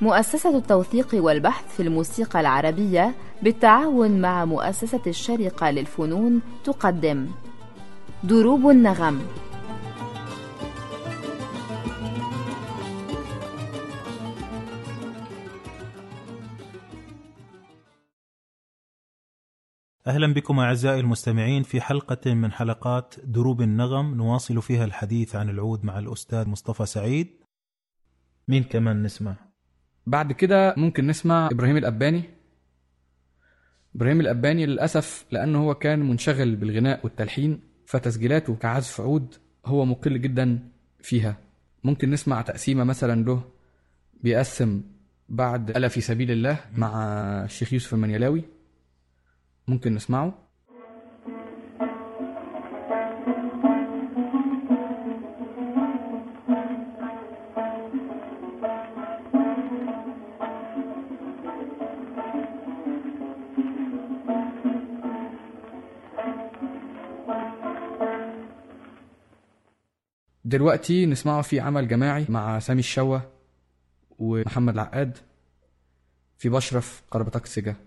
مؤسسة التوثيق والبحث في الموسيقى العربية بالتعاون مع مؤسسة الشارقة للفنون تقدم دروب النغم. أهلا بكم أعزائي المستمعين في حلقة من حلقات دروب النغم، نواصل فيها الحديث عن العود مع الأستاذ مصطفى سعيد. مين كمان نسمع؟ بعد كده ممكن نسمع إبراهيم الأباني. إبراهيم الأباني للأسف لأنه هو كان منشغل بالغناء والتلحين، فتسجيلاته كعزف عود هو مقل جدا فيها. ممكن نسمع تقسيمة مثلا له بيقسم بعد ألا في سبيل الله مع الشيخ يوسف المنيلاوي، ممكن نسمعه. دلوقتي نسمعه في عمل جماعي مع سامي الشوا ومحمد العقاد في بشرف قربتك سجا.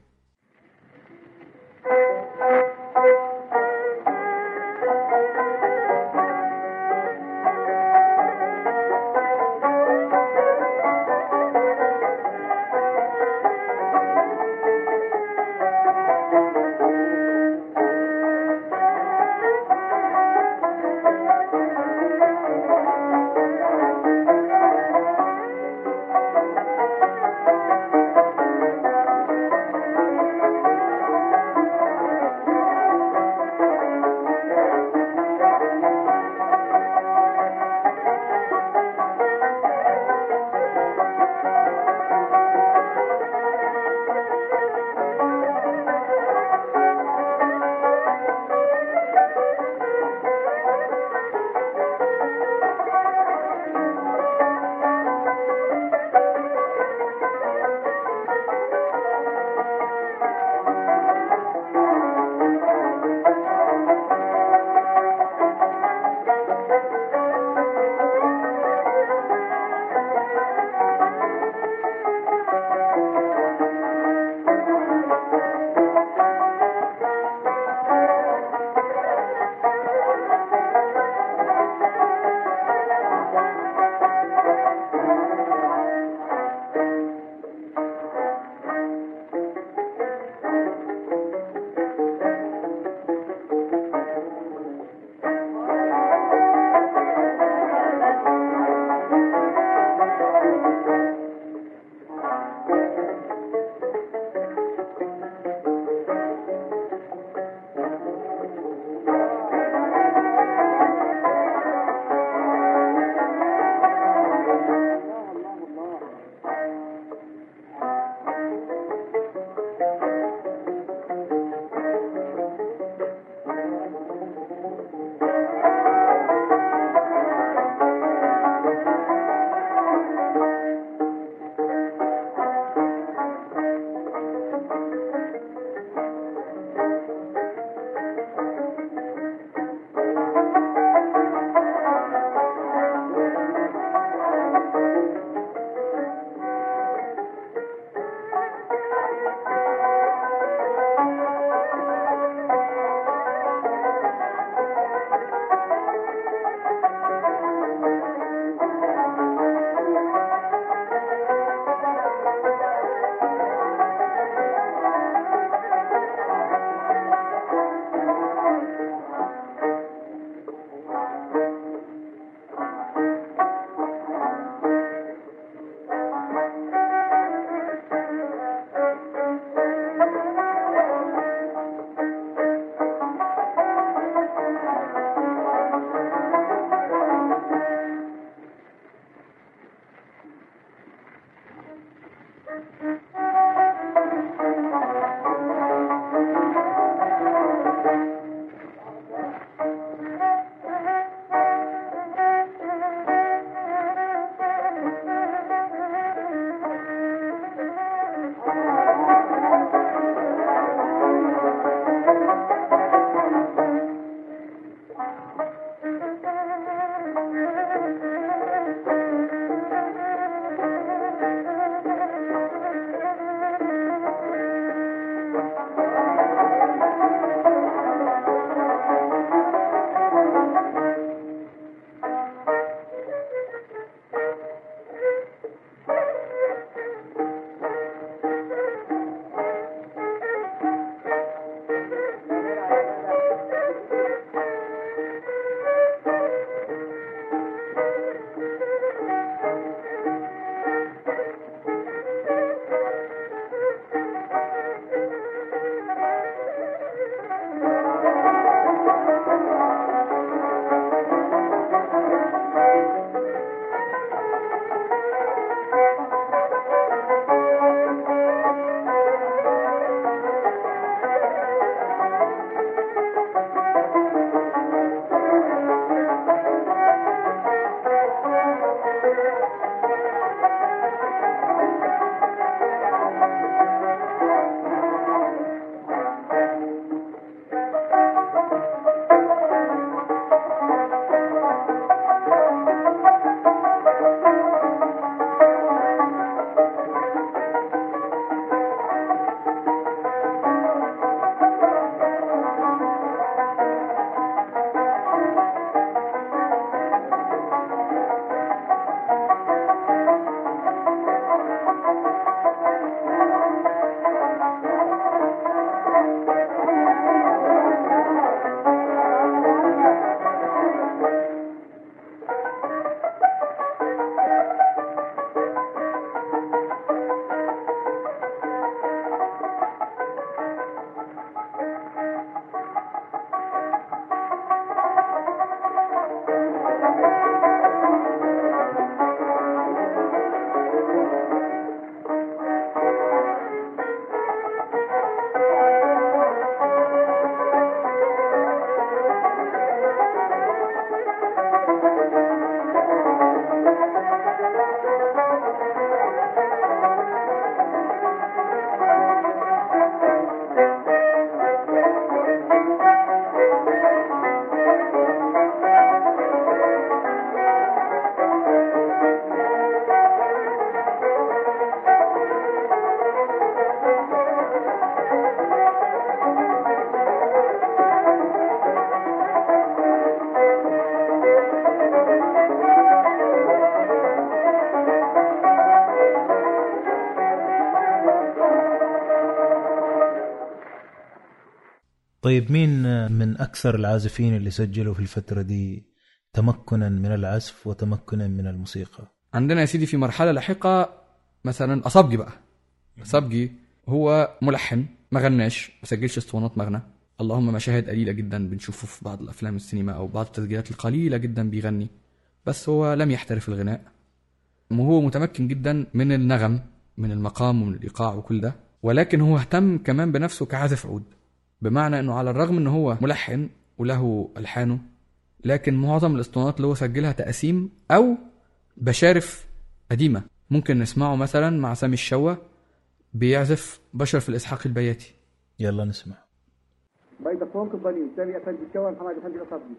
طيب مين من أكثر العازفين اللي سجلوا في الفترة دي تمكنا من العزف وتمكنا من الموسيقى؟ عندنا يا سيدي في مرحلة لاحقة مثلا أصابجي بقى. أصابجي هو ملحن، ما غناش، ما سجلش اسطوانات مغنى، اللهم مشاهد قليلة جدا بنشوفه في بعض الأفلام السينما أو بعض التسجيلات القليلة جدا بيغني، بس هو لم يحترف الغناء. وهو متمكن جدا من النغم، من المقام ومن الإيقاع وكل ده، ولكن هو اهتم كمان بنفسه كعازف عود، بمعنى أنه على الرغم أنه هو ملحن وله ألحانه، لكن معظم الاسطوانات اللي هو سجلها تقاسيم أو بشارف قديمة. ممكن نسمعه مثلا مع سامي الشوا بيعزف بشر في الإسحاق البياتي. يلا نسمع. بيضة فوق الضليل سامي أفندي الشوا محمد أفندي الأصابجي.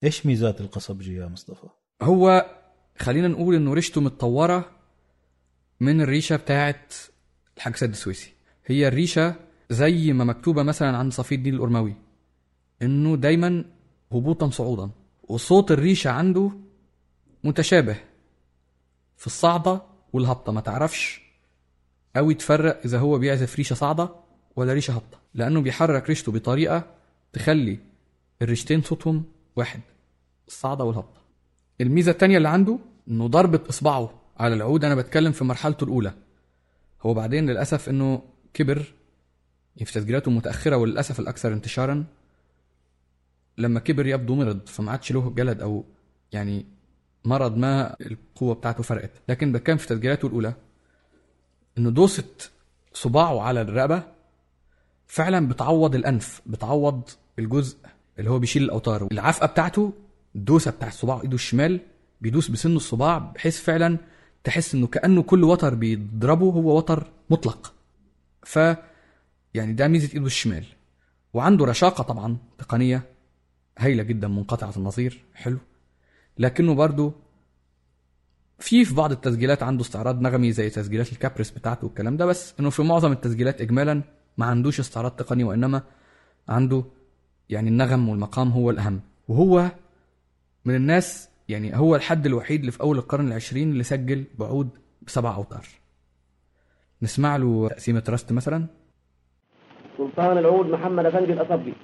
إيش ميزات القصبجي يا مصطفى؟ هو خلينا نقول إنه ريشته متطورة من الريشة بتاعت الحاج سيد السويسي. هي الريشة زي ما مكتوبة مثلا عند صفي الدين الأرموي إنه دايما هبوطا صعودا، وصوت الريشة عنده متشابه في الصعدة والهبطة، ما تعرفش أوي تفرق إذا هو بيعزف ريشة صعدة ولا ريشة هبطة، لأنه بيحرك ريشته بطريقة تخلي الريشتين صوتهم واحد، الصعدة والهبطة. الميزة التانية اللي عنده إنه ضربة إصبعه على العود، أنا بتكلم في مرحلته الأولى، هو بعدين للأسف إنه كبر في تسجيلاته متأخرة، وللأسف الأكثر انتشارا لما كبر يبدو مرض، فما عادش له جلد أو يعني مرض ما القوة بتاعته فرقت. لكن بتكلم في تسجيلاته الأولى إنه دوسة صباعه على الرقبة فعلا بتعوض الأنف، بتعوض الجزء اللي هو بيشيل الأوتار. العفقة بتاعته الدوسة بتاع الصباع إيده الشمال بيدوس بسن الصباع بحيث فعلا تحس إنه كأنه كل وتر بيضربه هو وتر مطلق. ف يعني ده ميزة إيده الشمال. وعنده رشاقة طبعا تقنية هايلة جدا منقطعة النظير، حلو. لكنه برضو في بعض التسجيلات عنده استعراض نغمي زي تسجيلات الكابريس بتاعته والكلام ده، بس انه في معظم التسجيلات اجمالا ما عندوش استعراض تقني، وانما عنده يعني النغم والمقام هو الاهم. وهو من الناس يعني هو الحد الوحيد اللي في اول القرن العشرين اللي سجل بعود ب7 أوتار. نسمع له تقسيمة راست مثلا. سلطان العود محمد أفندي الأصبي.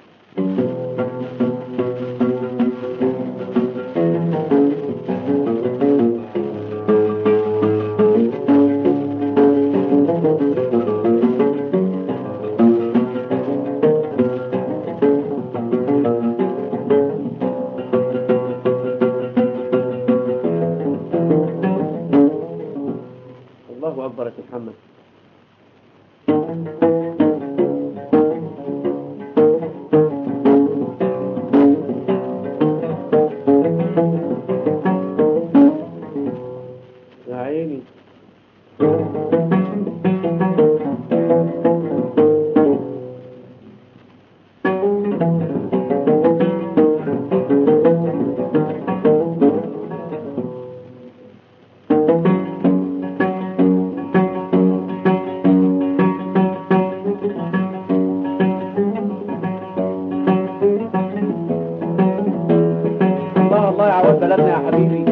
الله أكبر يا محمد. يا عيني. الله يعوض بلدنا يا حبيبي.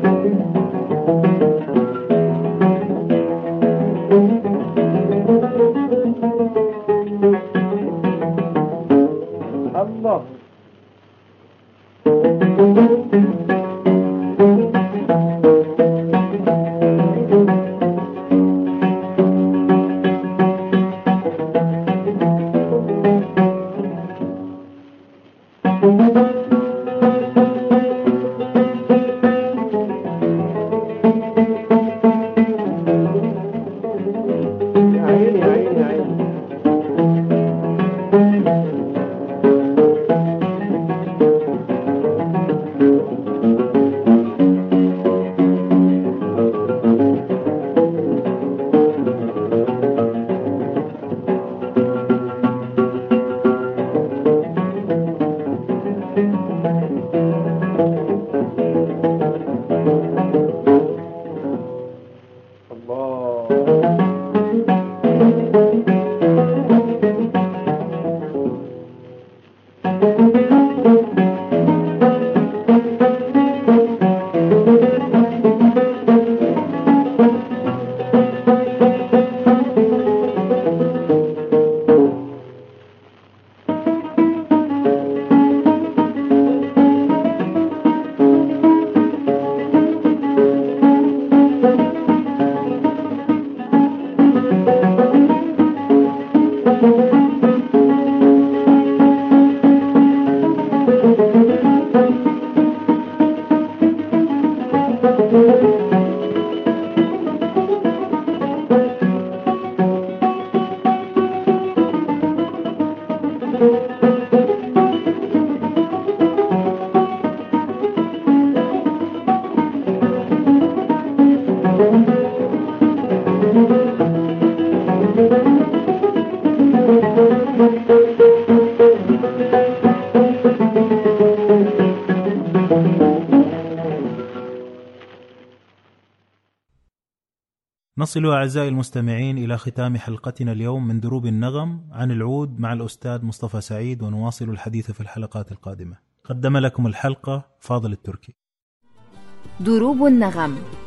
الله. يا عيني يا عيني يا عيني. نصل أعزائي المستمعين إلى ختام حلقتنا اليوم من دروب النغم عن العود مع الأستاذ مصطفى سعيد، ونواصل الحديث في الحلقات القادمة. قدم لكم الحلقة فاضل التركي. دروب النغم